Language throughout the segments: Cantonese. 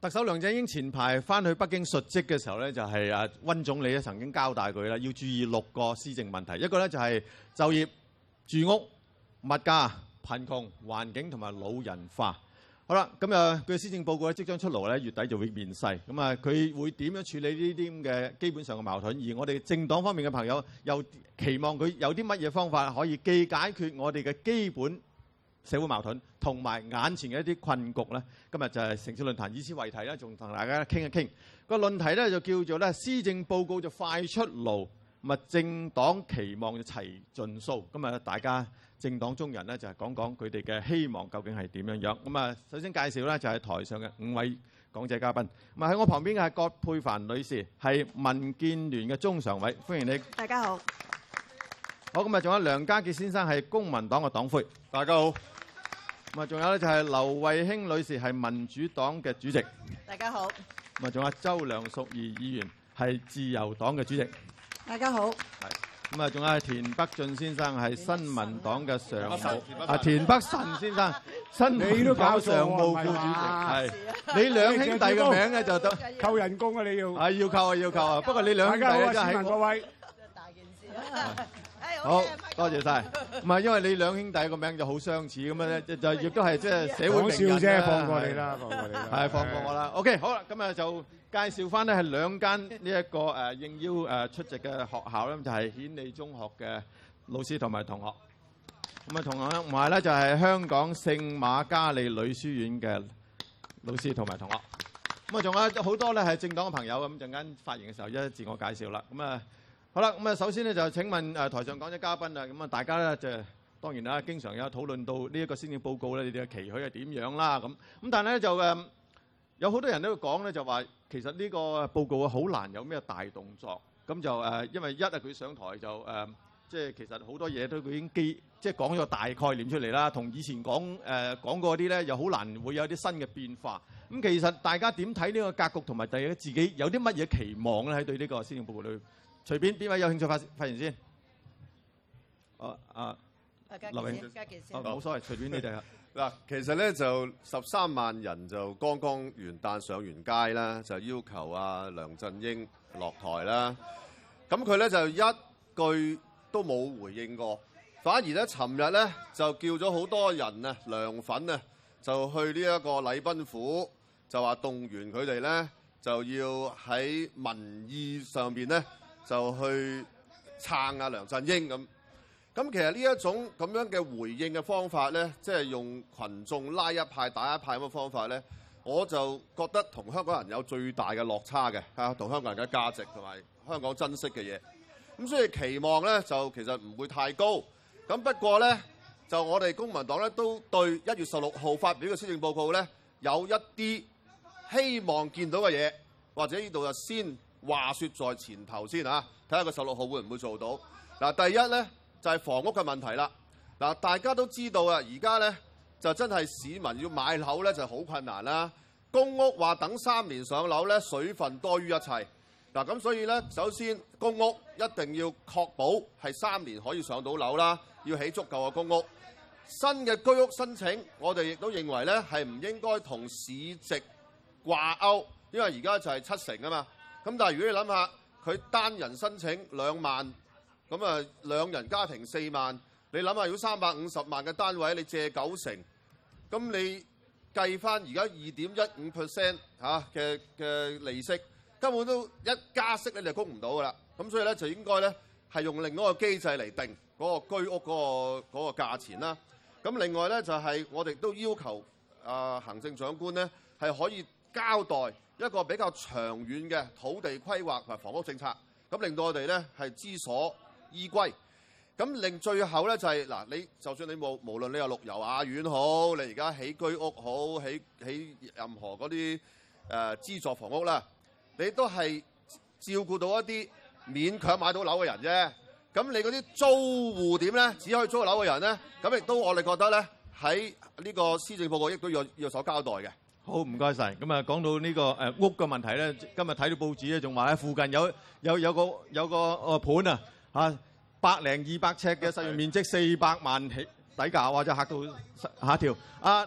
特首梁振英前排翻去北京述職嘅時候咧，就係温總理咧曾經交代佢啦，要注意6個施政問題。一個咧就係就業、住屋、物價、貧窮、環境同埋老人化。好啦，咁佢嘅施政報告咧即將出爐咧，月底就會面世。咁啊，佢會點樣處理呢啲咁嘅基本上嘅矛盾？而我哋政黨方面嘅朋友又期望佢有啲乜嘢方法可以既解決我哋嘅基本社會矛盾同埋眼前嘅一啲困局咧？今日就係城市論壇，以此為題咧，仲同大家傾一傾。個論題咧就叫做咧施政報告就快出爐，咁啊政黨期望就齊盡數。咁啊大家政黨中人咧就係講講佢哋嘅希望究竟係點樣樣。咁啊首先介紹咧就係台上嘅5位講者嘉賓。咁啊喺我旁邊嘅係葛珮帆女士，係民建聯嘅中常委，歡迎你。 大家好。 好，咁啊仲有梁家傑先生係公民黨嘅黨魁，大家好。咁啊仲有咧就係劉慧卿女士係民主黨嘅主席， 大家好。 咁啊仲有周梁淑怡議員係自由黨嘅主席， 大家好。 咁啊，仲有田北俊先生係新民黨嘅常務，田北辰先生新民黨常務副主席，係你兩兄弟嘅名咧就得扣人工啊！你要係要扣啊要扣啊！不過你兩兄弟咧真係各位大件事好多謝晒。唔係因為你兩兄弟個名就好相似咁樣咧，就亦都係即係社會名人啫，放過你啦，放過你啦， 係放過我啦。OK， 好啦，咁啊就介紹翻咧係兩間呢一個應邀出席嘅學校咧，就係顯利中學嘅老師同埋同學。咁啊同學埋咧就係香港聖瑪加利女書院嘅老師同埋同學。咁啊仲有好多咧係政黨嘅朋友，咁陣間發言嘅時候一自我介紹啦。咁啊好啦，咁啊首先咧就請問台上講者嘉賓啊，咁啊大家咧就當然啦，經常有討論到呢一個施政報告咧，你哋嘅期許係點樣啦咁。咁但係咧就有好多人都會講咧，就話其實呢個報告好難有咩大動作。咁就因為佢上台就即係其實好多嘢都佢已經即係講咗個大概念出嚟啦，同以前講過啲咧又好難會有啲新嘅變化。咁其實大家點睇呢個格局同埋大家自己有啲乜嘢期望咧？喺對呢個施政報告裏，隨便邊位有興趣發言先？劉穎，冇所謂，隨便你哋。 嗱，其實咧就13萬人就剛剛元旦上完街啦，就要求梁振英落台啦。咁佢咧就一句都冇回應過，反而咧尋日咧就叫咗好多人啊梁粉啊就去呢一個禮賓府，就話動員佢哋咧就要喺民意上邊咧就去撐梁振英咁。咁其實呢一種咁樣嘅回應嘅方法咧，即係用群眾拉一派打一派咁嘅方法咧，我就覺得同香港人有最大嘅落差嘅嚇，同香港人嘅價值同埋香港珍惜嘅嘢。咁所以期望咧就其實唔會太高。咁不過咧，就我哋公民黨咧都對1月16號發表嘅施政報告咧有一啲希望見到嘅嘢，或者呢度就先話説在前頭先嚇，睇下個16號會唔會做到。嗱，第一咧。就係房屋嘅問題啦。嗱，大家都知道啊，而家咧就真係市民要買樓咧就好困難啦。公屋話等3年上樓咧，水分多於一切。嗱，咁所以咧，首先公屋一定要確保係3年可以上到樓啦，要起足夠嘅公屋。新嘅居屋申請，我哋亦都認為咧係唔應該同市值掛鈎，因為而家就係7成啊嘛。咁但係如果你諗下，佢單人申請2萬。咁啊，2人家庭4萬，你諗下，如果350萬嘅單位，你借9成，咁你計翻而家2.15% 嘅利息，根本都一加息咧就供唔到噶啦。咁所以咧就應該咧係用另一個機制嚟定嗰個居屋嗰個價錢啦。咁另外咧就係我哋都要求行政長官咧係可以交代一個比較長遠嘅土地規劃同埋房屋政策，咁令到我哋咧係知所依歸。咁另最後咧就係嗱，你就算你無論你有綠油雅苑好，你而家起居屋好，起任何嗰啲資助房屋啦，你都係照顧到一啲勉強買到樓嘅人啫。咁你嗰啲租戶點咧？只可以租樓嘅人咧，咁亦都我哋覺得咧喺呢個施政報告亦都要有所交代嘅。 好，唔該晒。咁啊，講到呢個屋嘅問題咧，今日睇到報紙咧，仲話喺附近有個盤啊嚇，100-200尺嘅實用面積400萬起底價，哇！真係嚇到嚇一跳。田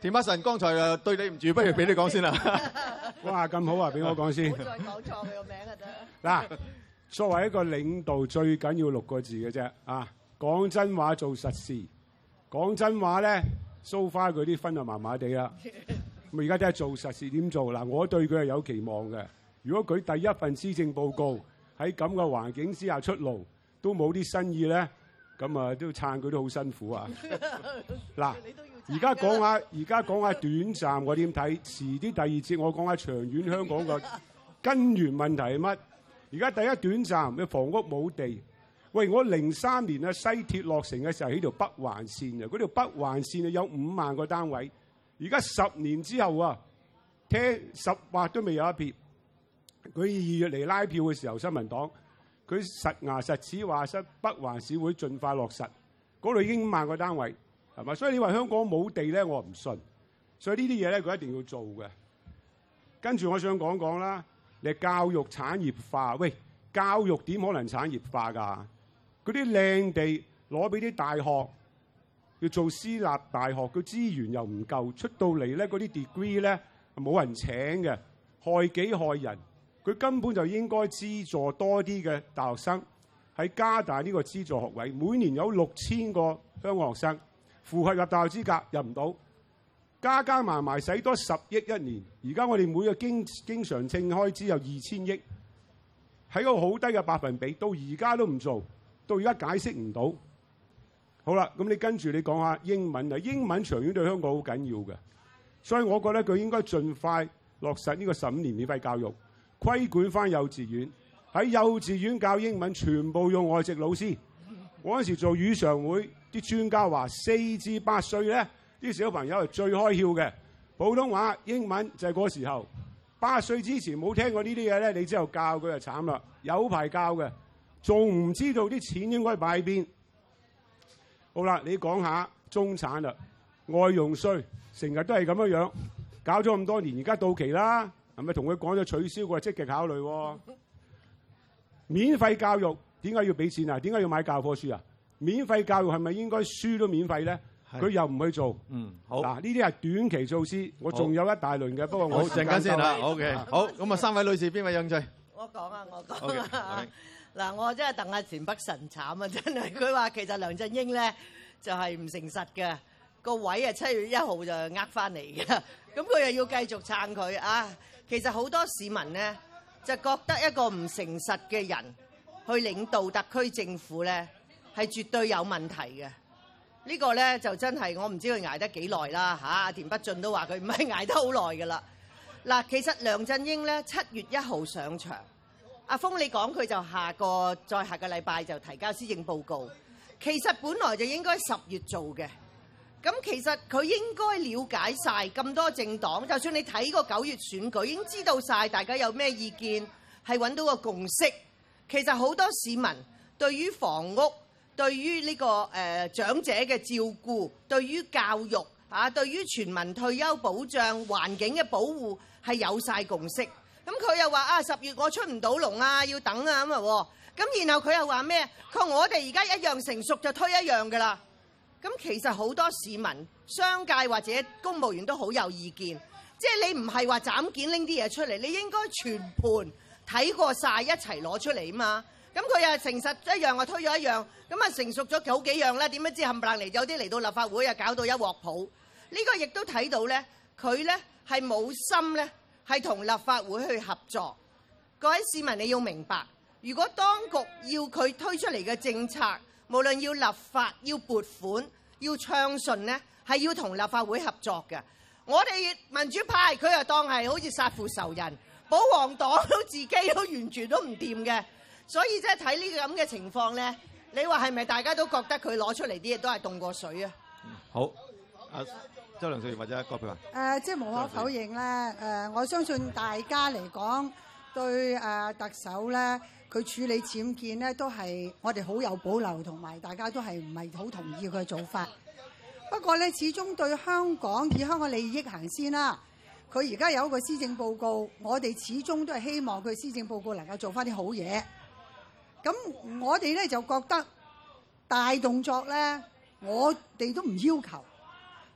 田北辰剛才誒對你唔住，不如俾你講先啦。 哇，咁好啊，俾我講先。 唔好再講錯佢個名啊得。 嗱，作為一個領導，最緊要6個字嘅啫啊！講真話，做實事。講真話咧，so far佢啲分就麻麻地啦。咁而家都係做實事點做嗱？我對佢係有期望嘅。如果佢第一份施政報告喺咁嘅環境之下出爐，都冇啲新意咧，咁啊都撐佢都好辛苦啊！嗱，而家講下短暫我點睇，遲啲第二節我講下長遠香港個根源問題係乜？而家第一短暫嘅房屋冇地。喂，我03年啊西鐵落成嘅時候喺條北環線啊，嗰條北環線啊有5萬個單位，而家10年之後啊，聽10劃都未有一撇。佢2月嚟拉票嘅時候，新民黨佢實牙實齒話北環市會盡快落實，嗰度已經5萬個單位，係嘛？所以你話香港冇地咧，我唔信。所以呢啲嘢咧，佢一定要做嘅。跟住我想講講啦，你教育產業化，喂，教育點可能產業化㗎？嗰啲靚地攞俾啲大學，要做私立大學，佢資源又唔夠，出到嚟咧嗰啲 degree 咧冇人請嘅，害己害人。佢根本就應該資助多啲嘅大學生，喺加大呢個資助學位，每年有6000個香港學生符合入大學資格入唔到，加埋埋使多10億一年。而家我哋每個經常性開支有2000億，喺個好低嘅百分比，到而家都唔做。到而家解釋唔到，好啦，咁你跟住你講下英文啊，英文長遠對香港好緊要嘅，所以我覺得佢應該盡快落實呢個15年免費教育，規管翻幼稚園，喺幼稚園教英文全部用外籍老師。我嗰時做語常會，啲專家話4至8歲咧，啲小朋友係最開竅嘅，普通話、英文就係嗰時候。8歲之前冇聽過呢啲嘢咧，你之後教佢就慘啦，有排教嘅。仲唔知道啲錢應該擺喺邊？好啦，你講下中產啦，外傭稅成日都係咁樣，搞咗咁多年，而家到期啦，係咪同佢講咗取消？佢話積極考慮喎。免費教育點解要俾錢啊？點解要買教科書啊？免費教育係咪應該書都免費咧？佢又唔去做。好。嗱，呢啲係短期措施，我仲有一大輪嘅，不過我陣間先啦。OK，好，咁啊，3位女士邊位有興趣？ 我講啊，我講啊。嗱，我真係戥阿田北辰慘啊！真係，佢話其實梁振英咧就係唔誠實嘅，個位啊7月1號就呃翻嚟嘅，咁佢又要繼續撐佢啊！其實好多市民咧就覺得一個唔誠實嘅人去領導特區政府咧係絕對有問題嘅。呢個咧就真係我唔知佢捱得幾耐啦嚇。田北俊都話佢唔係捱得好耐㗎啦。嗱，其實梁振英咧7月1號上場。阿峰，你講佢就下個禮拜就提交施政報告，其實本來就應該10月做嘅。咁其實佢應該了解晒咁多政黨，就算你睇過9月選舉，已經知道晒大家有咩意見，係揾到個共識。其實好多市民對於房屋、對於呢個長者嘅照顧、對於教育對於全民退休保障、環境嘅保護係有晒共識。咁佢又話10月我出唔到籠啊，要等啊咁啊。咁然後佢又話咩？佢話我哋而家一樣成熟就推一樣㗎啦。咁其實好多市民、商界或者公務員都好有意見，即係你唔係話斬件拎啲嘢出嚟，你應該全盤睇過晒一齊攞出嚟啊嘛。咁佢又誠實一樣，我推咗一樣，咁啊成熟咗好幾樣啦。點樣知冚唪唥嚟有啲嚟到立法會啊，搞到一鑊泡。呢個亦都睇到咧，佢咧係冇心咧。係同立法會去合作，各位市民你要明白，如果當局要佢推出嚟嘅政策，無論要立法、要撥款、要暢順呢，係要同立法會合作嘅。我哋民主派佢又當係好似殺父仇人，保皇黨都自己都完全都唔掂嘅，所以即係睇呢個咁嘅情況呢，你話係咪大家都覺得佢攞出嚟啲嘢都係凍過水啊？ 好，周梁淑怡或者葛珮帆。 即係無可否認咧，我相信大家嚟講對特首咧，佢處理僭建咧都係我哋好有保留，同埋大家都係唔係好同意佢嘅做法。不過咧，始終對香港以香港利益行先啦。佢而家有一個施政報告，我哋始終都係希望佢施政報告能夠做翻啲好嘢。咁我哋咧就覺得大動作咧，我哋都唔要求。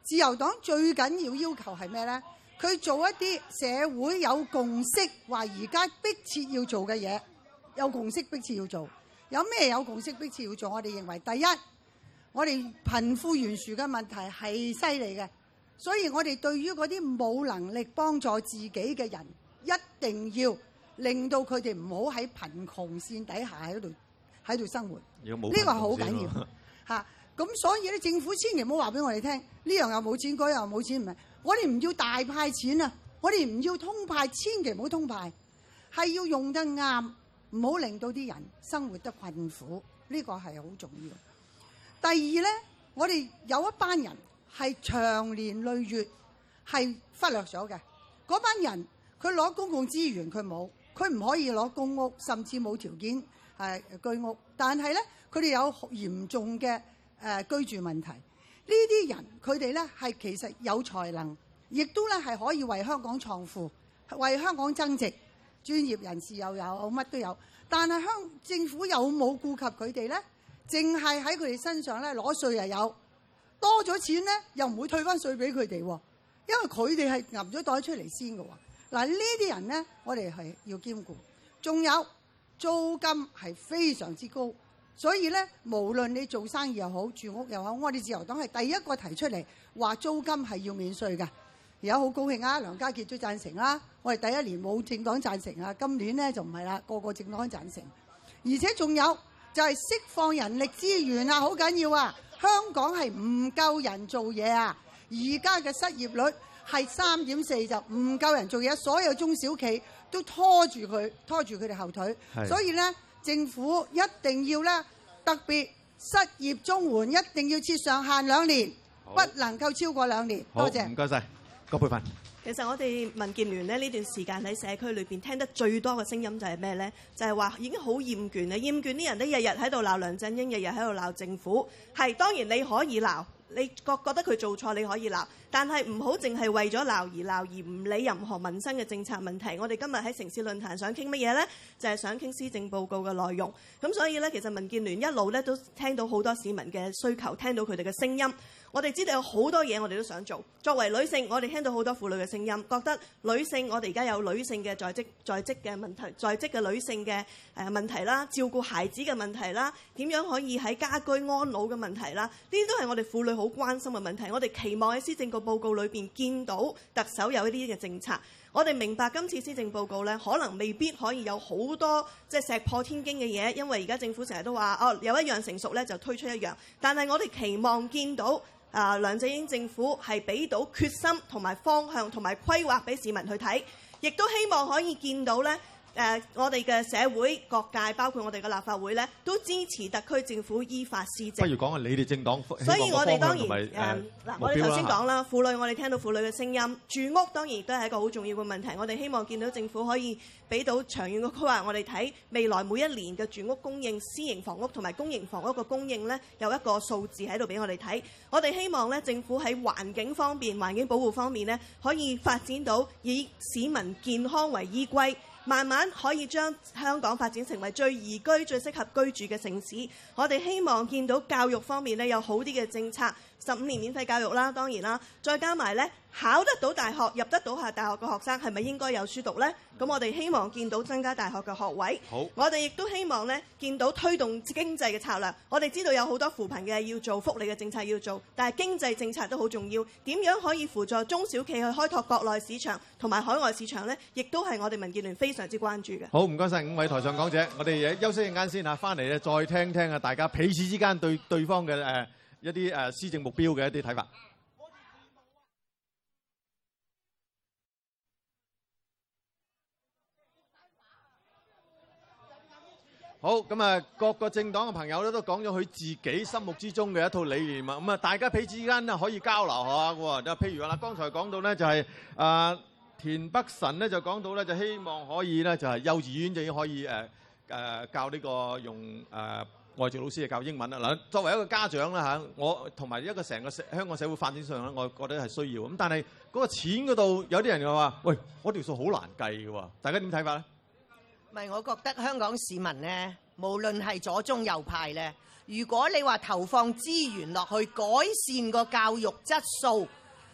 自由黨最緊要求係咩呢？佢做一啲社會有共識，話而家迫切要做嘅嘢，有共識迫切要做。有咩有共識迫切要做？我哋認為第一，我哋貧富懸殊嘅問題係犀利嘅，所以我哋對於嗰啲冇能力幫助自己嘅人，一定要令到佢哋唔好喺貧窮線底下喺度生活。呢個係好緊要嚇。咁所以咧，政府千祈唔好話俾我哋聽，呢樣又冇錢，嗰樣又冇錢，唔係。我哋唔要大派錢啊！我哋唔要通派，千祈唔好通派，係要用得啱，唔好令到啲人生活得困苦。呢個係好重要。第二呢，我哋有一班人係長年累月係忽略咗嘅。嗰班人佢攞公共資源佢冇，佢唔可以攞公屋，甚至冇條件居屋。但係呢，佢哋有嚴重嘅居住問題。呢啲人佢哋咧係其實有才能，亦都咧係可以為香港創富，為香港增值。專業人士又有，乜都有。但係政府有冇顧及佢哋咧？淨係喺佢哋身上咧攞稅又有，多咗錢咧又唔會退翻稅俾佢哋喎，因為佢哋係揞咗袋出嚟先嘅喎。嗱，呢啲人咧，我哋係要兼顧。仲有租金係非常之高。所以咧，無論你做生意又好，住屋又好，我哋自由黨係第一個提出嚟話租金係要免稅嘅。而家好高興啊，梁家傑都贊成啦。我哋第一年冇政黨贊成啊，今年咧就唔係啦，個個政黨贊成。而且仲有就係釋放人力資源啊，好緊要啊！香港係唔夠人做嘢啊，而家嘅失業率係3.4，就唔夠人做嘢，所有中小企都拖住佢哋後腿。所以咧，政府一定要咧，特別失業綜援一定要設上限2年，不能夠超過2年。多謝。 唔該晒，葛珮帆。 其實我哋民建聯呢段時間喺社區裏邊聽得最多嘅聲音就係咩呢？就係話已經好厭倦啦，厭倦啲人都日日喺度鬧梁振英，日日喺度鬧政府。係當然你可以鬧，你覺得佢做錯你可以鬧，但係唔好淨係為咗鬧而鬧，而唔理任何民生嘅政策問題。我哋今日喺城市論壇想傾乜嘢呢？就係想傾施政報告嘅內容。咁所以呢，其實民建聯一路呢都聽到好多市民嘅需求，聽到佢哋嘅聲音。我哋知道有好多嘢我哋都想做。作為女性，我哋聽到好多婦女嘅聲音，覺得女性我哋而家有女性嘅在職嘅問題，在職嘅女性嘅問題啦，照顧孩子嘅問題啦，點樣可以喺家居安老嘅問題啦，呢啲都係我哋婦女好關心嘅問題。我哋期望喺施政報告裏邊見到特首有呢啲嘅政策。我哋明白今次施政報告呢，可能未必可以有好多即係石破天驚嘅嘢，因為而家政府成日都話有一樣成熟呢就推出一樣。但係我哋期望見到梁振英政府係俾到決心同埋方向同埋規劃俾市民去睇，亦都希望可以見到呢。我哋嘅社會各界，包括我哋嘅立法會咧，都支持特區政府依法施政。 不如講下你哋政黨， 所以我哋當然我哋頭先講啦，婦女我哋聽到婦女嘅聲音，住屋當然亦都係一個好重要嘅問題。我哋希望見到政府可以俾到長遠嘅規劃，我哋睇未來每一年嘅住屋供應、私營房屋同埋公營房屋嘅供應咧，有一個數字喺度俾我哋睇。我哋希望咧，政府喺環境方面、環境保護方面咧，可以發展到以市民健康為依歸。慢慢可以將香港發展成為最宜居、最適合居住嘅城市。我哋希望見到教育方面呢有好啲嘅政策，15年免費教育啦，當然啦，再加埋呢考得到大學、入得到大學嘅學生係咪應該有書讀呢？咁我哋希望見到增加大學嘅學位。好，我哋亦都希望呢見到推動經濟嘅策略。我哋知道有好多扶貧嘅要做，福利嘅政策要做，但係經濟政策都好重要。點樣可以輔助中小企去開拓國內市場同埋海外市場呢？亦都係我哋民建聯非常之關注嘅。好，唔該晒5位台上講者，我哋休息陣間先嚇，翻嚟咧再聽聽大家彼此之間對對方嘅一啲施政目標嘅一啲睇法。好，咁各個政黨嘅朋友咧都講咗佢自己心目之中嘅一套理念啊，咁大家彼此之間咧可以交流下喎。就譬如話啦，剛才講到咧就係田北辰咧就講到咧就希望可以咧就係幼稚園就已經可以教呢個用外籍老師教英文啦。嗱，作為一個家長啦嚇，我同埋一個成個香港社會發展上咧，我覺得係需要。咁但係嗰個錢嗰度有啲人又話：喂，嗰條數好難計嘅喎，大家點睇法咧？ 唔係，我覺得香港市民呢，無論係左中右派呢，如果你話投放資源落去改善個教育質素，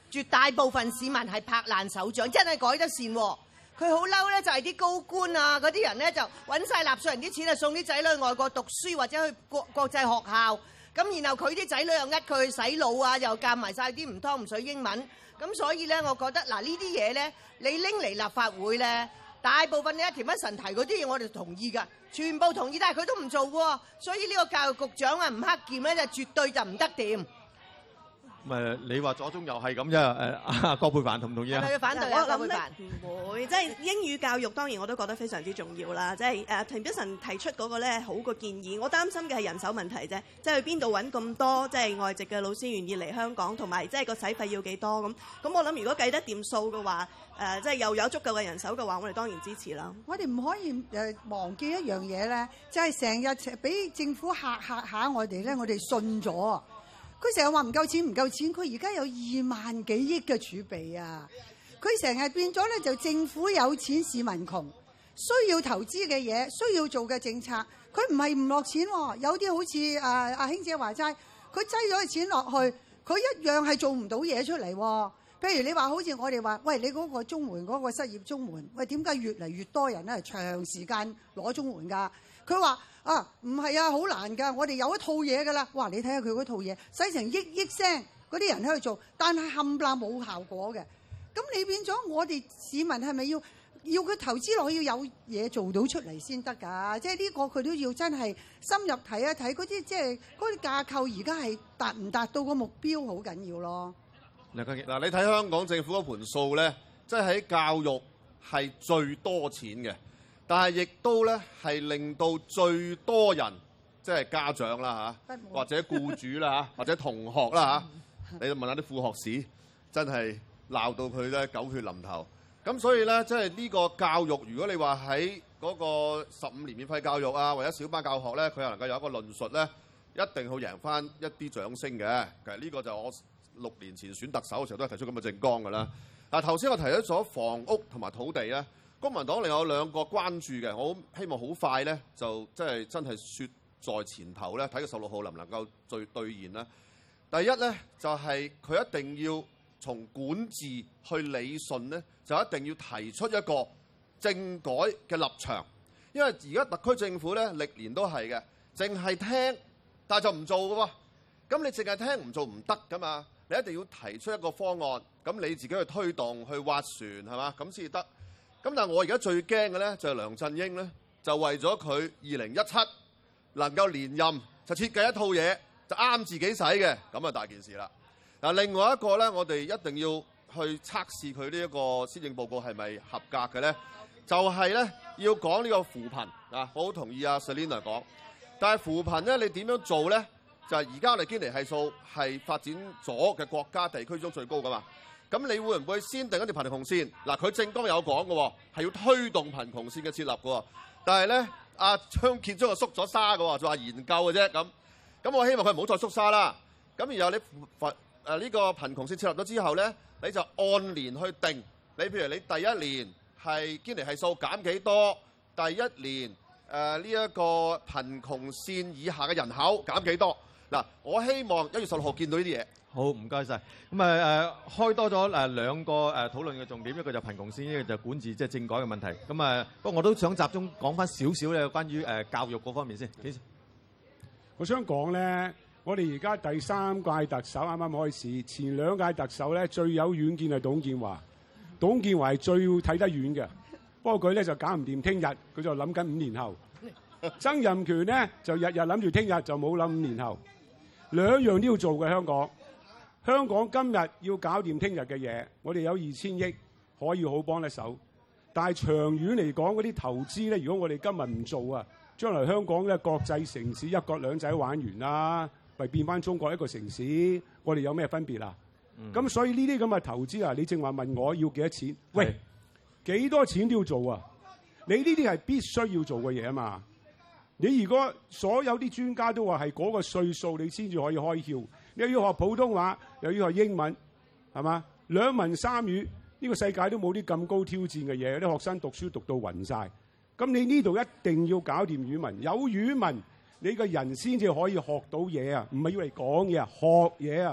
絕大部分市民係拍爛手掌，真係改得善喎。佢好嬲咧，就係啲高官啊嗰啲人咧就揾晒納稅人啲錢啊，送啲仔女去外國讀書或者去國際學校，咁然後佢啲仔女又呃佢去洗腦啊，又教埋晒啲唔湯唔水英文，咁所以咧，我覺得嗱呢啲嘢咧，你拎嚟立法會咧，大部分你一田北辰提嗰啲嘢我哋同意㗎，全部同意，但係佢都唔做喎，所以呢個教育局長啊吳克儉咧就絕對就唔得掂。 你話左中右係咁啫。阿葛珮帆同唔同意啊？ 係咪要反對我啊？葛諗咧珮帆唔會，即係英語教育當然我都覺得非常之重要啦。即係田北辰提出嗰個咧好個建議，我擔心嘅係人手問題啫。即係去邊度揾咁多即係外籍嘅老師願意嚟香港，同埋即係個使費要幾多咁？咁我諗如果計得掂數嘅話，即係又有足夠嘅人手嘅話，我哋當然支持啦。 我哋唔可以忘記一樣嘢咧，就係成日俾政府嚇下我哋咧，我哋信咗。佢成日話唔夠錢唔夠錢，佢而家有2萬幾億嘅儲備啊！佢成日變咗咧就政府有錢市民窮，需要投資嘅嘢，需要做嘅政策，佢唔係唔落錢喎。有啲好似阿卿姐話齋，佢擠咗啲錢落去，佢一樣係做唔到嘢出嚟喎。譬如你話好似我哋話，喂，你嗰個綜援嗰個失業綜援，喂，點解越嚟越多人咧長時間攞綜援㗎？佢話唔係啊，好難㗎，我哋有一套嘢㗎啦。哇，你睇下佢嗰套嘢，使成億聲嗰啲人喺度做，但係冚唪唥冇效果嘅。咁你變咗我哋市民係咪要佢投資落去要有嘢做到出嚟先得㗎？即係呢個佢都要真係深入睇一睇嗰啲，即係嗰啲架構而家係達唔達到個目標好緊要咯。 嗱，你睇香港政府嗰盤數咧，即係喺教育係最多錢嘅，但係亦都咧係令到最多人，即係家長啦嚇，或者僱主啦嚇，或者同學啦嚇，你問下啲副學士，真係鬧到佢咧狗血淋頭。咁所以咧，即係呢個教育，如果你話喺嗰個15年免費教育啊，或者小班教學咧，佢又能夠有一個論述咧，一定會贏翻一啲掌聲嘅。其實呢個就我6年前選特首嘅時候都係提出咁嘅政綱㗎啦。嗱，頭先我提咗房屋同埋土地咧，公民黨另有2個關注嘅，我希望好快咧就即係真係説在前頭咧，睇個16號能唔能夠兌現啦。第一咧就係佢一定要從管治去理順咧，就一定要提出一個政改嘅立場，因為而家特區政府咧歷年都係嘅，淨係聽但係就唔做嘅喎。咁你淨係聽唔做唔得㗎嘛？你一定要提出一個方案，咁你自己去推動去划船係嘛？咁先至得。咁但係我而家最驚嘅咧就係梁振英咧，就為咗佢2017能夠連任，就設計一套嘢就啱自己使嘅，咁啊大件事啦。嗱，另外一個咧，我哋一定要去測試佢呢一個施政報告係咪合格嘅咧，就係咧要講呢個扶貧啊，我好同意阿 Selina 講，但係扶貧咧你點樣做咧？就係而家我哋堅尼係數係發展咗嘅國家地區中最高噶嘛，咁你會唔會先定一條貧窮線？嗱，佢政綱有講嘅喎，係要推動貧窮線嘅設立嘅喎，但係咧阿張建宗就縮咗沙嘅喎，就話研究嘅啫咁。咁我希望佢唔好再縮沙啦。咁然後你呢個貧窮線設立咗之後咧，你就按年去定。你譬如你第一年係堅尼係數減幾多，第一年呢一個貧窮線以下嘅人口減幾多。嗱，我希望1月16號見到呢啲嘢。 好，唔該晒。咁開多咗2個討論嘅重點，一個就貧窮線，一個就管治，即係政改嘅問題。咁不過我都想集中講翻少少咧，關於教育嗰方面先。 我想講咧，我哋而家第3屆特首啱啱開始，前2屆特首咧最有遠見係董建華。董建華係最睇得遠嘅，不過佢咧就搞唔掂聽日，佢就諗緊5年後。曾蔭權咧就日日諗住聽日，就冇諗5年後。2樣都要做嘅香港。香港今日要搞掂聽日嘅嘢，我哋有2000億可以好幫得手。但係長遠嚟講，嗰啲投資咧，如果我哋今日唔做啊，將來香港咧國際城市一國兩制玩完啦，咪變翻中國一個城市，我哋有咩分別啊？咁所以呢啲咁嘅投資啊，你正話問我要幾多錢？喂，幾多錢都要做啊？你呢啲係必須要做嘅嘢啊嘛。你如果所有啲專家都話係嗰個歲數你先至可以開竅，你又要學普通話，又要學英文，係嘛？2文3語，呢個世界都冇啲咁高挑戰嘅嘢，啲學生讀書讀到暈晒。咁你呢度一定要搞掂語文，有語文你個人先至可以學到嘢啊，唔係要嚟講嘢啊，學嘢啊，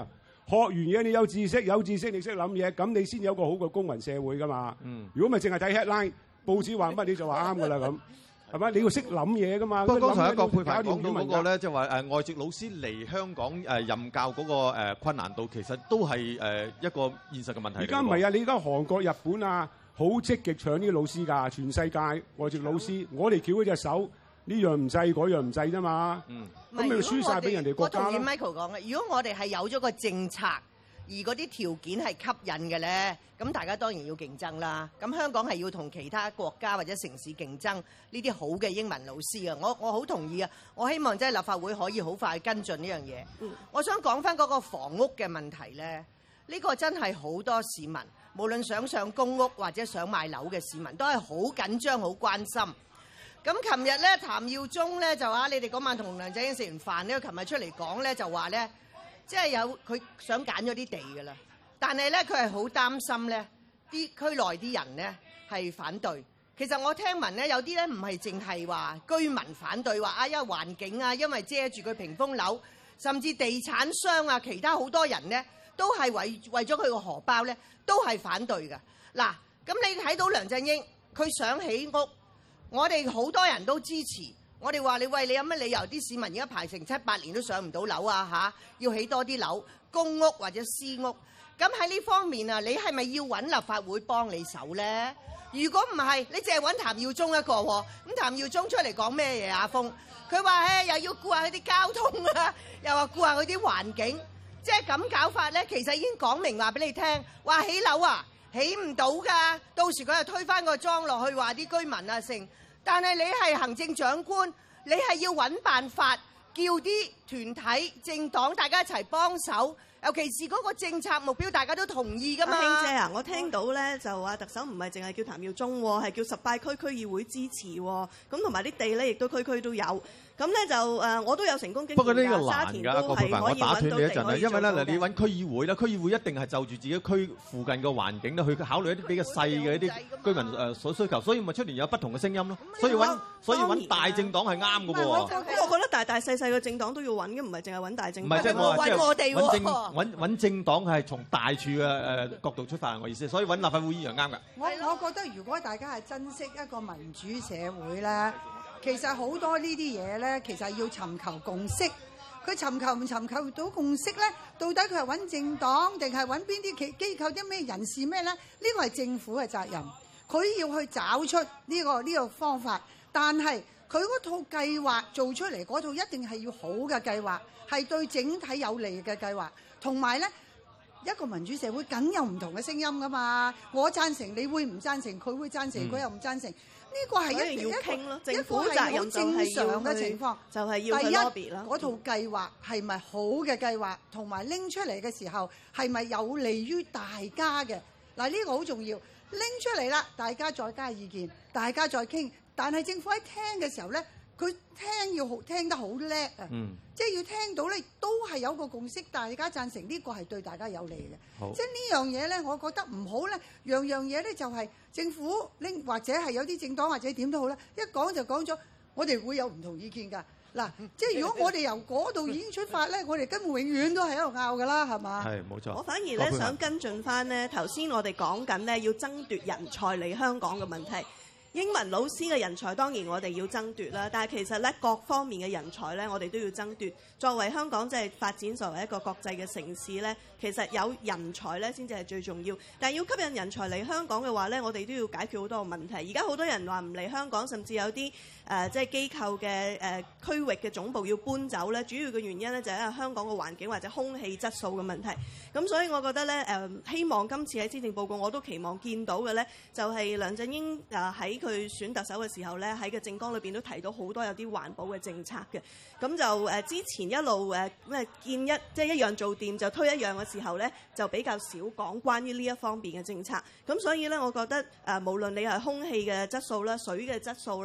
學完嘢你有知識你識諗嘢，咁你先有個好嘅公民社會噶嘛。如果咪淨係睇 headline，報紙話乜你就話啱噶啦咁，係咪？你要識諗嘢噶嘛。 不過剛才一個佩凡搞掂講到嗰個咧，即係話外籍老師嚟香港任教嗰個困難度，其實都係一個現實嘅問題嚟嘅喎。 而家唔係啊，你而家韓國、日本啊，好積極搶呢啲老師㗎，全世界外籍老師，我哋翹嗰隻手，呢樣唔制，嗰樣唔制啫嘛。咁你輸晒俾人哋國家啦。 我同意 Michael 講嘅，如果我哋係有咗個政策，而嗰啲條件係吸引嘅咧，咁大家當然要競爭啦。咁香港係要同其他國家或者城市競爭呢啲好嘅英文老師啊。我好同意啊！我希望即係立法會可以好快跟進呢樣嘢。我想講翻嗰個房屋嘅問題咧，呢個真係好多市民，無論想上公屋或者想買樓嘅市民，都係好緊張、好關心。咁琴日咧，譚耀宗咧就話：你哋嗰晚同梁振英食完飯咧，佢琴日出嚟講咧就話咧，即係有佢想揀咗啲地㗎啦。但係咧，佢係好擔心咧，啲區內啲人咧係反對。其實我聽聞咧，有啲咧唔係淨係話居民反對，話啊因為環境啊，因為遮住佢屏風樓，甚至地產商啊，其他好多人咧都係為咗佢個荷包咧，都係反對㗎。嗱，咁你睇到梁振英佢想起屋。我哋好多人都支持，我哋話你有乜理由啲市民而家排成7-8年都上唔到樓啊嚇？要起多啲樓，公屋或者私屋。咁喺呢方面啊，你係咪要揾立法會幫你手咧？如果唔係，你淨係揾譚耀宗一個喎。咁譚耀宗出嚟講咩嘢？阿峰佢話又要顧下佢啲交通啊，又話顧下佢啲環境，即係咁搞法咧。其實已經講明話俾你聽，話起樓啊起唔到㗎，到時佢又推翻個莊落去，話啲居民啊成。但係你係行政長官，你係要揾辦法，叫啲團體、政黨大家一齊幫手，尤其是嗰個政策目標大家都同意㗎嘛。 卿姐啊，我聽到咧就話特首唔係淨係叫譚耀宗喎，係叫18區區議會支持喎，咁同埋啲地咧亦都區區都有。咁咧就我都有成功經驗㗎。 不過呢個難㗎， 郭佩凡， 我打斷你一陣啊，因為咧嗱，你揾區議會啦，區議會一定係就住自己區附近嘅環境咧，去考慮一啲比較細嘅一啲居民所需求，所以咪出年有不同嘅聲音咯。所以揾大政黨係啱嘅噃。 我覺得大大細細嘅政黨都要揾嘅，唔係淨係揾大政黨。 唔係即係我話我哋揾政黨係從大處嘅角度出發，我意思。所以揾立法會議員啱㗎。 我覺得如果大家係珍惜一個民主社會咧。其實好多呢啲嘢咧，其實要尋求共識。佢尋求唔尋求到共識咧？到底佢係揾政黨定係揾邊啲機構啲咩人士咩咧？呢個係政府嘅責任，佢要去找出呢個方法。但係佢嗰套計劃做出嚟嗰套一定係要好嘅計劃，係對整體有利嘅計劃。同埋咧，一個民主社會梗有唔同嘅聲音噶嘛。我贊成，你會唔贊成？佢會贊成，佢又唔贊成。呢個係一定要傾咯，政府責任就係正常嘅情況， 就係要去 lobby 啦。 嗰套計劃係咪好嘅計劃，同埋拎出嚟嘅時候係咪有利於大家嘅？嗱，呢個好重要。拎出嚟啦，大家再加意見，大家再傾。但係政府喺聽嘅時候咧，佢聽得好叻啊！即係要聽到咧，都係有個共識，大家贊成呢個係對大家有利嘅。即係呢樣嘢咧，我覺得唔好咧，樣嘢咧就係政府拎或者係有啲政黨或者點都好啦，一講就講咗，我哋會有唔同意見㗎。嗱，即係如果我哋由嗰度已經出發咧，我哋根本永遠都係喺度拗㗎啦，係嘛？ 係冇錯。 我反而咧想跟進翻咧，頭先我哋講緊咧要爭奪人才嚟香港嘅問題。英文老師嘅人才當然我哋要爭奪啦，但係其實咧各方面嘅人才咧我哋都要爭奪。作為香港即係發展作為一個國際嘅城市咧，其實有人才咧先至係最重要。但係要吸引人才嚟香港嘅話咧，我哋都要解決好多個問題。而家好多人話唔嚟香港，甚至有啲即係機構嘅區域嘅總部要搬走咧，主要嘅原因咧就係因為香港嘅環境或者空氣質素嘅問題。咁所以我覺得咧希望今次喺施政報告我都期望見到嘅咧，就係梁振英喺佢選特首嘅時候咧，喺個政綱裏邊都提到好多有啲環保嘅政策嘅。咁就之前一路見即係一樣做掂就推一樣嘅時候咧，就比較少講關於呢一方面嘅政策。咁所以咧，我覺得無論你係空氣嘅質素啦、水嘅質素啦，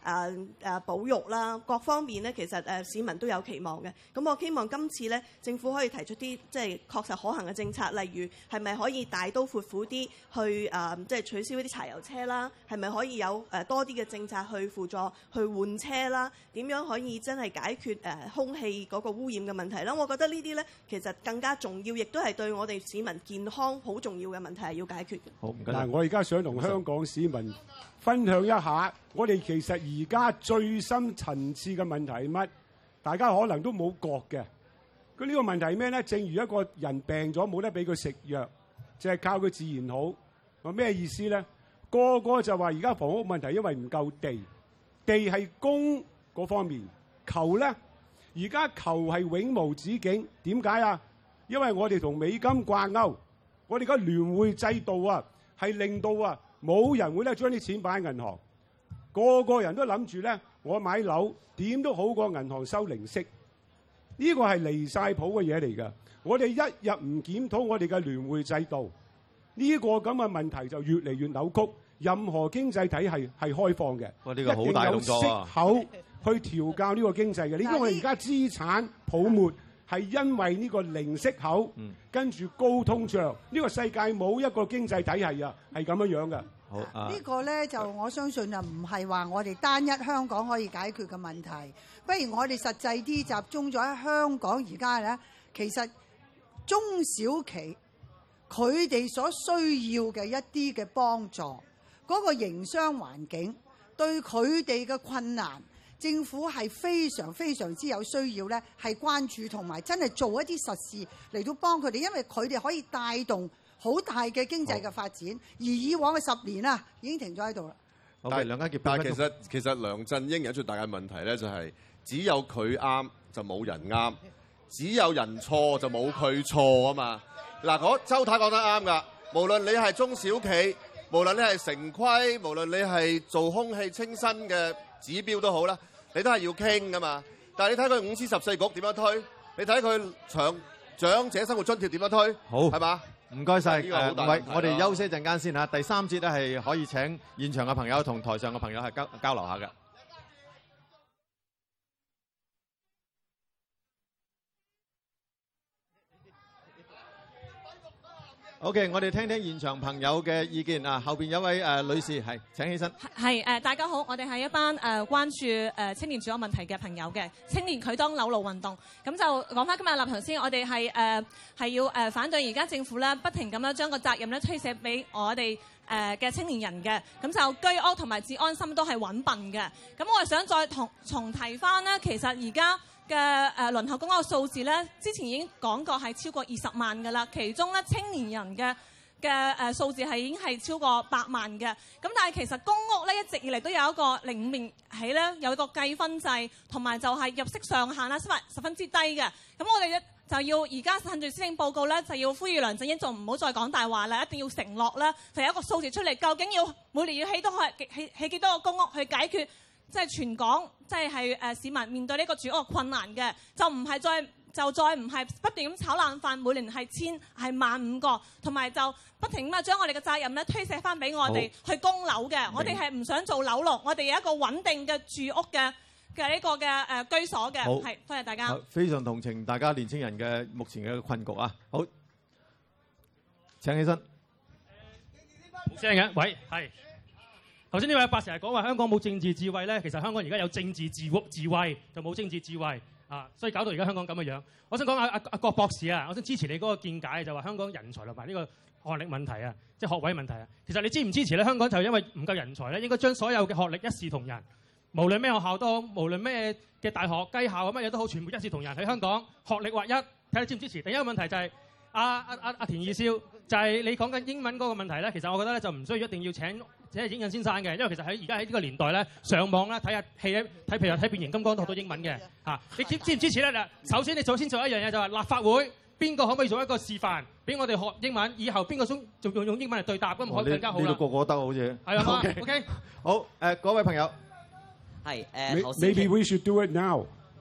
保育啦，各方面咧，其實市民都有期望嘅。咁我希望今次咧，政府可以提出啲即係確實可行嘅政策，例如係咪可以大刀闊斧啲去即係取消一啲柴油車啦？係咪可以有多啲嘅政策去輔助去換車啦？點樣可以真係解決空氣嗰個污染嘅問題啦？我覺得呢啲咧其實更加重要，亦都係對我哋市民健康好重要嘅問題係要解決嘅。 好，唔該。 嗱，我而家想同香港市民分享一下，我哋其實而家最深層次嘅問題係乜？大家可能都冇覺嘅。佢呢個問題係咩咧？正如一個人病咗冇得俾佢食藥，就係靠佢自然好。話咩意思咧？個個就話而家房屋問題因為唔夠地，地係供嗰方面，求咧而家求係永無止境。點解啊？因為我哋同美金掛鈎，我哋個聯匯制度啊，係令到啊冇人會咧將啲錢擺喺銀行，個個人都諗住咧，我買樓點都好過銀行收零息。呢個係離晒譜嘅嘢嚟㗎。我哋一日唔檢討我哋嘅聯匯制度，呢個咁嘅問題就越嚟越扭曲。任何經濟體系係開放嘅， 哇！呢個好大動作啊！ 一定有息口去調教呢個經濟嘅。你因為而家資產泡沫係因為呢個零息口，跟住高通脹，呢個世界冇一個經濟體系啊係咁樣樣嘅。 好呢個咧就我相信啊，唔係話我哋單一香港可以解決嘅問題。不如我哋實際啲集中咗喺香港而家咧，其實中小企佢哋所需要嘅一啲嘅幫助，嗰個營商環境對佢哋嘅困難，政府係非常非常之有需要咧，係關注同埋真係做一啲實事嚟到幫佢哋，因為佢哋可以帶動好大嘅經濟嘅發展，而以往嘅10年啊已經停咗喺度啦。 但係梁家傑， 但係其實梁振英有最大嘅問題咧，就係只有佢啱就冇人啱，只有人錯就冇佢錯啊嘛。嗱，周太講得啱㗎，無論你係中小企，無論你係城規，無論你係做空氣清新嘅指標都好啦，你都係要傾㗎嘛。但係你睇佢5司14局點樣推，你睇佢長者生活津貼點樣推， 好係嘛？ 唔該晒， 喂， 我哋休息一陣間先嚇。第3節咧係可以請現場嘅朋友同台上嘅朋友係交流下嘅。OK， 我哋聽聽現場朋友嘅意見啊。後邊有位女士係請起身。 係大家好，我哋係一班關注青年住屋問題嘅朋友嘅青年拒當樓奴運動。咁就講翻今日立場先，我哋係要反對而家政府咧不停咁樣將個責任咧推卸俾我哋嘅青年人嘅。咁就居屋同埋治安心都係揾笨嘅。咁我係想再重提翻咧，其實而家嘅輪候公屋嘅數字咧，之前已經講過係超過20萬㗎啦。其中咧青年人嘅數字係已經係超過8萬嘅。咁但係其實公屋咧一直以嚟都有一個05年起咧有一個計分制，同埋就係入息上限啦，十分之低嘅。咁我哋咧就要而家趁住施政報告咧，就要呼籲梁振英就唔好再講大話啦，一定要承諾啦，就有一個數字出嚟，究竟要每年要起幾多個公屋去解決即係全港即係市民面對呢個住屋困難嘅，就再唔係不斷咁炒冷飯，每年係15000個，同埋就不停咁將我哋嘅責任咧推卸翻俾我哋去供樓嘅。我哋係唔想做樓奴，我哋有一個穩定嘅住屋嘅呢個嘅居所嘅。係，多謝大家。 非常同情大家年青人嘅目前嘅困局啊！好，請起身。 冇聲嘅，喂，係。頭先呢位阿伯成日講話香港冇政治智慧咧，其實香港而家有政治智慧，就冇政治智慧啊，所以搞到而家香港咁嘅樣。我想講阿郭博士啊，我想支持你嗰個見解，就話香港人才同埋呢個學歷問題啊，即係學位問題啊。其實你支唔支持咧？香港就因為唔夠人才咧，應該將所有嘅學歷一視同仁，無論咩學校都好，無論咩嘅大學、雞校啊乜嘢都好，全部一視同仁喺香港學歷劃一。睇下支唔支持？第一個問題就係阿田二少，就係你講緊英文嗰個問題咧。其實我覺得咧就唔需要一定要請影印先生嘅，因為其實而家喺呢個年代咧，上網咧睇下戲咧，譬如睇變形金剛都學到英文嘅嚇。你支唔支持咧？嗱，首先你先做一樣嘢，就係立法會邊個可唔可以做一個示範，俾我哋學英文，以後邊個仲用英文嚟對答，咁可以更加好啦。 呢個個得好似係啊 ，OK， 好嗰位朋友係Maybe we should do it now。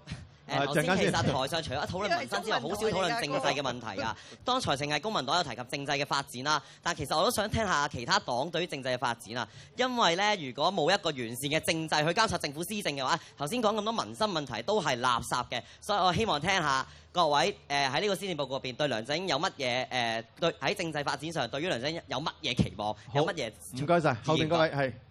頭先其實台上除咗討論民生之外，好少討論政制嘅問題㗎。剛才淨係公民黨有提及政制嘅發展啦，但其實我都想聽下其他黨對於政制嘅發展啊。因為咧，如果冇一個完善嘅政制去監察政府施政嘅話，頭先講咁多民生問題都係垃圾嘅。所以我希望聽下各位喺呢個施政報告入邊對梁振英有乜嘢對喺政制發展上對於梁振英有乜嘢期望，有乜嘢？ 唔該晒，後邊嗰位係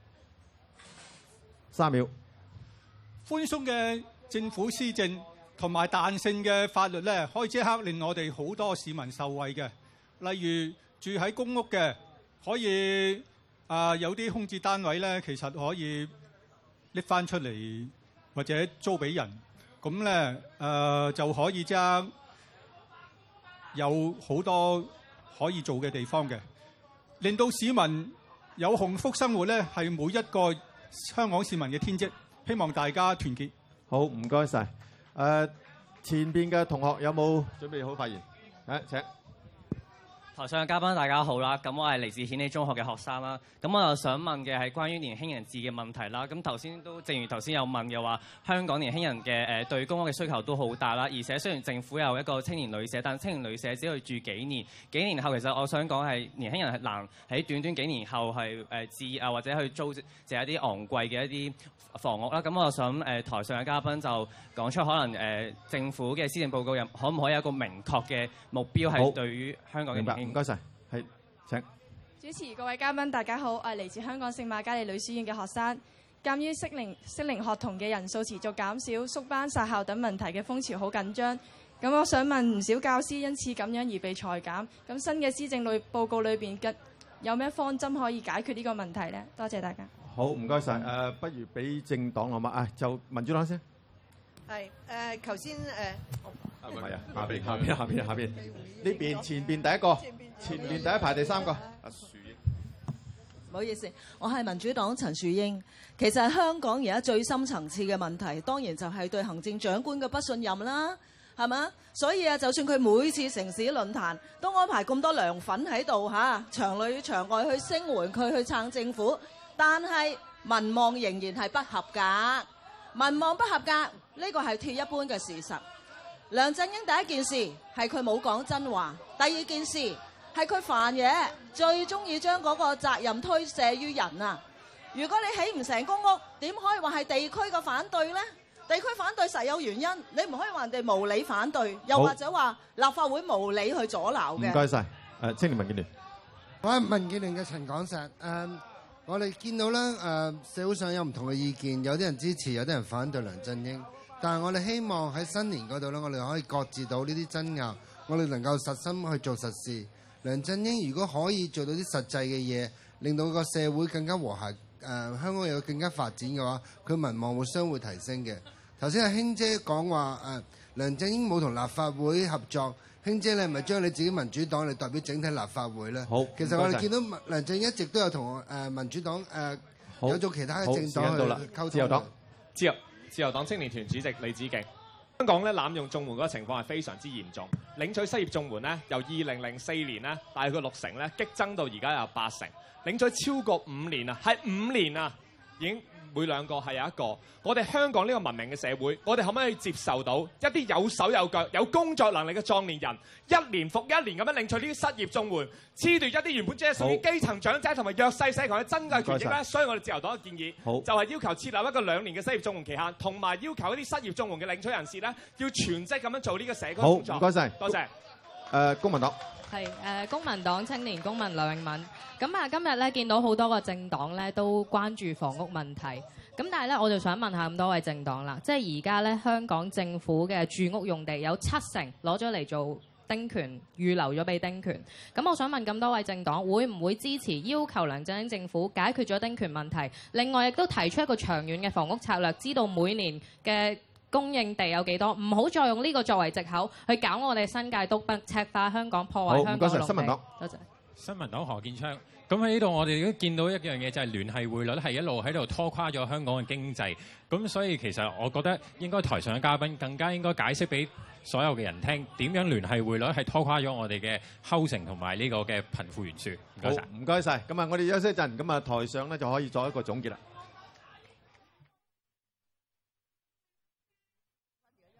3秒。 寬鬆嘅政府施政同埋彈性嘅法律咧，可以即刻令我哋好多市民受惠嘅。例如住喺公屋嘅，可以有啲空置單位咧，其實可以拎翻出嚟或者租俾人，咁咧就可以即刻有好多可以做嘅地方嘅，令到市民有幸福生活咧，係每一個香港市民嘅天職。希望大家團結。 好，唔該晒。前邊嘅同學有冇準備好發言？請。 台上嘅嘉賓大家好啦，咁我係嚟自顯利中學嘅學生啦，咁我又想問嘅係關於年輕人置嘅問題啦。咁頭先都正如頭先有問嘅話，香港年輕人嘅對公屋嘅需求都好大啦，而且雖然政府有一個青年旅社，但青年旅社只可以住幾年，幾年後其實我想講係年輕人係難喺短短幾年後係置或者去租借一啲昂貴嘅一啲房屋啦。咁我想台上嘅嘉賓就講出可能政府嘅施政報告入可唔可以有一個明確嘅目標係對於香港嘅年輕人？ 唔該晒，係請。 主持各位嘉賓，大家好，我係嚟自香港聖瑪嘉烈女書院嘅學生。鑑於適齡學童嘅人數持續減少、縮班殺校等問題嘅風潮好緊張，咁我想問唔少教師因此咁樣而被裁減，咁新嘅施政報告裏邊有咩方針可以解決呢個問題呢？多謝大家。 好，唔該晒。不如俾政黨好嘛？就民主黨先。 係頭先唔係啊，下邊呢邊前邊第一個，前邊第一排第3個。阿樹英， 唔好意思，我係民主黨陳樹英。其實香港而家最深層次嘅問題，當然就係對行政長官嘅不信任啦，係嘛？所以就算佢每次城市論壇都安排咁多梁粉喺度場裏場外去聲援佢，去撐政府，但係民望仍然係不合格。民望不合格，呢個係鐵一般嘅事實。梁振英第一件事係佢冇講真話，第二件事係佢煩嘢，最中意將嗰個責任推卸於人啊！如果你起唔成公屋，點可以話係地區嘅反對呢？地區反對實有原因，你唔可以話人哋無理反對，又或者話立法會無理去阻撓嘅。 唔該晒。青年民建聯， 我係民建聯嘅陳廣石。我哋見到咧，社會上有唔同嘅意見，有啲人支持，有啲人反對梁振英。但係我哋希望喺新年嗰度咧，我哋可以擱置到呢啲爭拗，我哋能夠實心去做實事。梁振英如果可以做到啲實際嘅嘢，令到個社會更加和諧，香港有更加發展嘅話，佢民望會相互提升嘅。頭先阿卿姐講話梁振英冇同立法會合作，卿姐你係咪將你自己民主黨嚟代表整體立法會咧？ 好， 其實我哋見到梁振英一直都有同民主黨有做其他嘅政黨去溝通。 自由黨青年團主席李梓敬，香港咧濫用綜援嗰個情況係非常之嚴重，領取失業綜援咧由2004年咧大概60%咧激增到而家有80%，領取超過5年啊，係5年啊，已經每2個係有一個。我哋香港呢個文明嘅社會，我哋可唔可以接受到一啲有手有腳、有工作能力嘅壯年人，一年復一年咁樣領取呢啲失業綜援，褫奪一啲原本只係屬於基層長者同埋弱勢社群嘅珍貴權益咧？所以我哋自由黨嘅建議就係要求設立一個2年嘅失業綜援期限，同埋要求一啲失業綜援嘅領取人士咧，要全職咁樣做呢個社區工作。 好，唔該晒， 多謝。 公民黨。 係公民黨青年公民梁永敏。咁今日咧見到好多個政黨咧都關注房屋問題。咁但係咧，我就想問下咁多位政黨啦，即係而家咧香港政府嘅住屋用地有70%攞咗嚟做丁權，預留咗俾丁權。咁我想問咁多位政黨，會唔會支持要求梁振英政府解決咗丁權問題？另外亦都提出一個長遠嘅房屋策略，知道每年嘅供應地有幾多，唔好再用呢個作為藉口去搞我哋新界東北赤化香港，破壞香港嘅農地。好，唔該晒，新民黨。多謝。 新民黨何建昌。咁喺呢度，我哋都見到一樣嘢，就係聯繫匯率係一路喺度拖垮咗香港嘅經濟。咁所以其實我覺得應該台上嘅嘉賓更加應該解釋俾所有嘅人聽，點樣聯繫匯率係拖垮咗我哋嘅 housing 同埋呢個嘅貧富懸殊。唔該晒。 唔該晒。咁啊，我哋休息一陣，咁啊台上咧就可以作一個總結啦。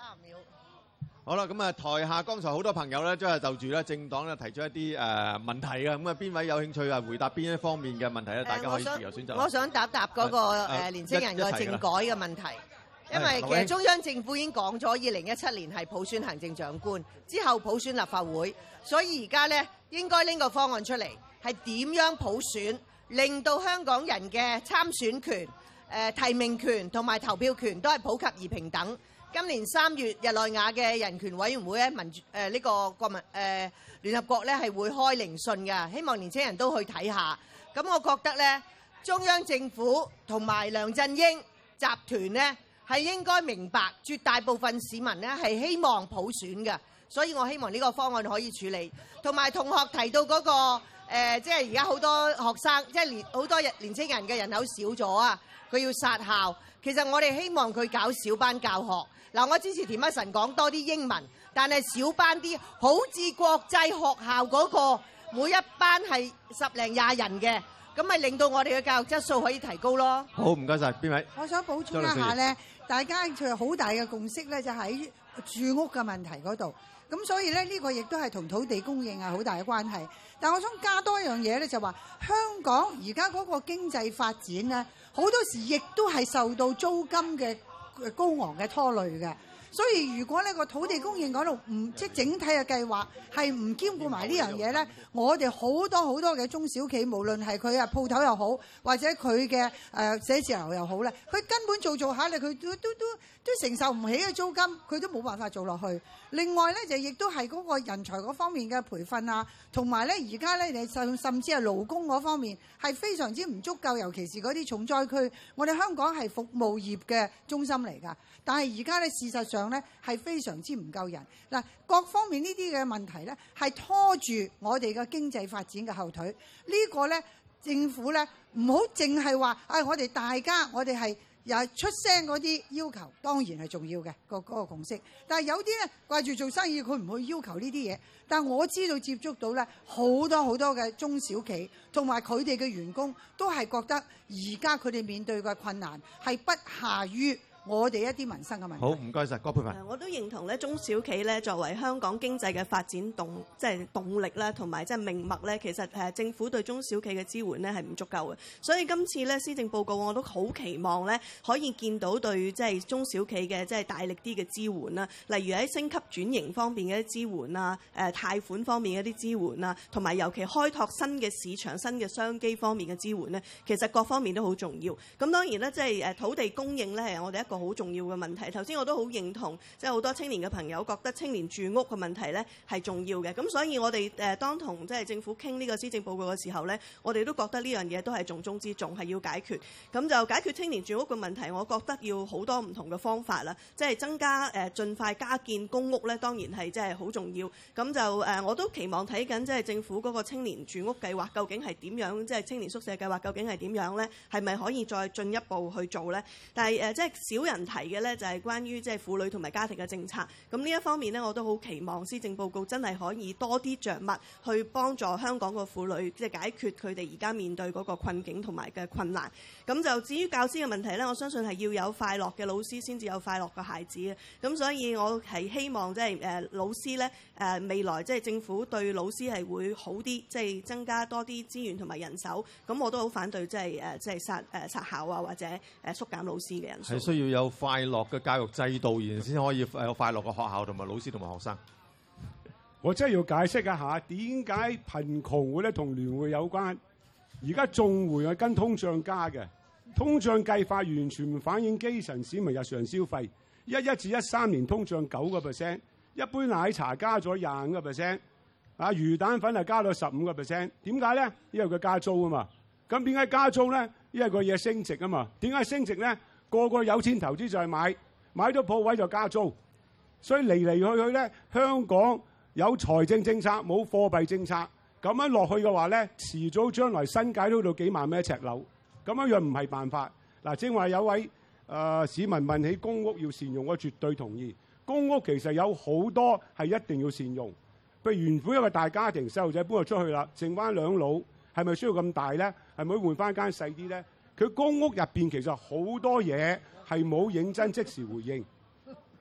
秒。 好啦，咁啊，台下剛才好多朋友咧，都係就住咧政黨咧提出一啲問題嘅，咁啊邊位有興趣啊回答邊一方面嘅問題咧？大家可以自由選擇。 我想答嗰個年青人個政改嘅問題，因為其實中央政府已經講咗2017年係普選行政長官，之後普選立法會，所以而家咧應該拎個方案出嚟，係點樣普選，令到香港人嘅參選權、提名權同埋投票權都係普及而平等。今年3月，日內瓦嘅人權委員會咧呢個國民聯合國咧係會開聆訊嘅，希望年青人都去睇下。咁我覺得咧，中央政府同埋梁振英集團咧係應該明白，絕大部分市民咧係希望普選嘅，所以我希望呢個方案可以處理。同埋同學提到嗰個即係而家好多學生，即係好多年青人嘅人口少咗啊，佢要殺校。其實我哋希望佢搞小班教學。嗱，我支持田北辰講多啲英文，但係小班啲，好似國際學校嗰個每一班係10零20人嘅，咁咪令到我哋嘅教育質素可以提高咯。 好，唔該晒，邊位？ 我想補充一下咧，大家就好大嘅共識咧，就喺住屋嘅問題嗰度。咁所以咧，呢個亦都係同土地供應係好大嘅關係。但我想加多一樣嘢咧，就話香港而家嗰個經濟發展咧，好多時亦都係受到租金嘅高昂嘅拖累嘅，所以如果呢個土地供應嗰度唔即係整體嘅計劃係唔兼顧埋呢樣嘢咧，我哋好多嘅中小企，無論係佢啊鋪頭又好，或者佢嘅寫字樓又好咧，佢根本做下咧，佢都承受唔起嘅租金，佢都冇辦法做落去。另外咧就亦都係嗰個人才嗰方面嘅培訓啊，同埋咧而家咧你甚至係勞工嗰方面係非常之唔足夠，尤其是嗰啲重災區。我哋香港係服務業嘅中心嚟㗎，但係而家咧事實上咧係非常之唔夠人。嗱，各方面呢啲嘅問題咧係拖住我哋嘅經濟發展嘅後腿。呢個咧政府咧唔好淨係話我哋大家我哋係又出聲嗰啲要求，當然係重要嘅嗰個共識。但係有啲咧掛住做生意，佢唔去要求呢啲嘢。但我知道接觸到咧好多嘅中小企同埋佢哋嘅員工都係覺得而家佢哋面對嘅困難係不下於我哋一啲民生嘅問題。 好，唔該晒，郭佩凡。 我都認同咧，中小企咧作為香港經濟嘅發展動力啦，同埋即係命脈咧，其實政府對中小企嘅支援咧係唔足夠嘅。所以今次咧施政報告我都好期望咧可以見到對即係中小企嘅即係大力啲嘅支援啦，例如喺升級轉型方面嘅一啲支援啊，貸款方面嘅一啲支援啊，同埋尤其開拓新嘅市場、新嘅商機方面嘅支援咧，其實各方面都好重要。咁當然咧，即係土地供應咧係我哋一個好重要嘅問題。頭先我都好認同，即係好多青年嘅朋友覺得青年住屋嘅問題咧係重要嘅。咁所以我哋當同即係政府傾呢個施政報告嘅時候咧，我哋都覺得呢樣嘢都係重中之重，係要解決。咁就解決青年住屋嘅問題，我覺得要好多唔同嘅方法啦。即係增加盡快加建公屋咧，當然係即係好重要。咁就我都期望睇緊即係政府嗰個青年住屋計劃究竟係點樣，即係青年宿舍計劃究竟係點樣咧？係咪可以再進一步去做咧？但係即係少人提嘅咧，就係關於即係婦女同埋家庭嘅政策。咁呢一方面咧，我都好期望施政報告真係可以多啲着墨去幫助香港個婦女，即係解決佢哋而家面對嗰個困境同埋嘅困難。咁就至於教師嘅問題咧，我相信係要有快樂嘅老師先至有快樂嘅孩子嘅。咁所以我係希望即係老師咧未來即係政府對老師係會好啲，即係增加多啲資源同埋人手。咁我都好反對即係殺校啊，或者縮減老師嘅人數。 係需要有快樂嘅教育制度，然先可以有快樂嘅學校同埋老師同埋學生。 我真係要解釋一下點解貧窮會咧同聯會有關。而家綜援係跟通脹加嘅，通脹計法完全唔反映基層市民日常消費。11至13年通脹9%，一杯奶茶加咗25%，魚蛋粉係加到15%。點解咧？因為佢加租啊嘛。咁點解加租咧？因為個嘢升值啊嘛。點解升值咧？個個有錢投資就係買到鋪位就加租。所以嚟去咧，香港有財政政策冇貨幣政策，咁樣落去嘅話咧，遲早將來新界都到幾萬蚊一尺樓，咁樣唔係辦法。嗱，正話有位市民問起公屋要善用，我絕對同意。公屋其實有好多係一定要善用。譬如原本一個大家庭，細路仔搬咗出去啦，剩翻兩老，係咪需要咁大咧？係咪換翻間細啲咧？佢公屋入邊其實好多嘢係冇認真即時回應。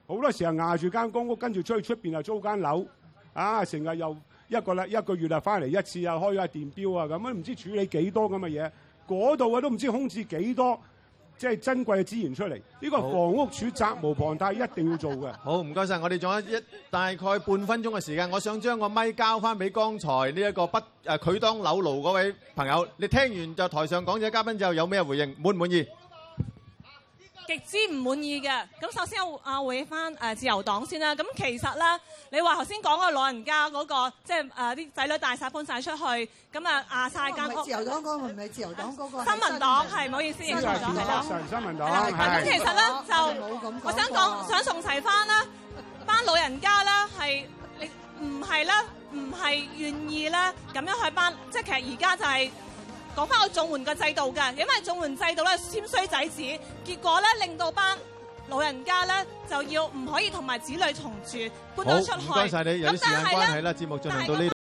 好多時候壓住間公屋，跟住出去出邊又租間樓，成日又一個月啊翻嚟一次啊，開下電錶啊咁，都唔知處理幾多咁嘅嘢，嗰度啊都唔知空置幾多。即係珍貴嘅資源出嚟，呢個房屋署責無旁貸，一定要做嘅。 好，唔該晒，我哋仲有大概半分鐘嘅時間，我想將個咪交翻俾剛才呢一個拒當樓奴嗰位朋友。你聽完就台上講者嘉賓之後有咩回應？滿唔滿意？ 極之唔滿意嘅。咁首先回翻自由黨先啦。咁其實咧，你話頭先講個老人家嗰個，即係啲仔女大曬搬晒出去，咁壓晒間屋。 自由黨嗰個唔係自由黨嗰個。 新民黨係，唔好意思，認錯咗係啦。 新民黨咁其實咧就，我想講想重齊翻啦，班老人家咧係你唔係願意咧咁樣去即係其實而家就係。講翻個綜援嘅制度㗎，因為綜援制度咧簽衰仔紙，結果咧令到班老人家咧就要唔可以同埋子女同住，搬咗出去。 好，唔該晒你，有啲時間關係啦，節目進行到呢度。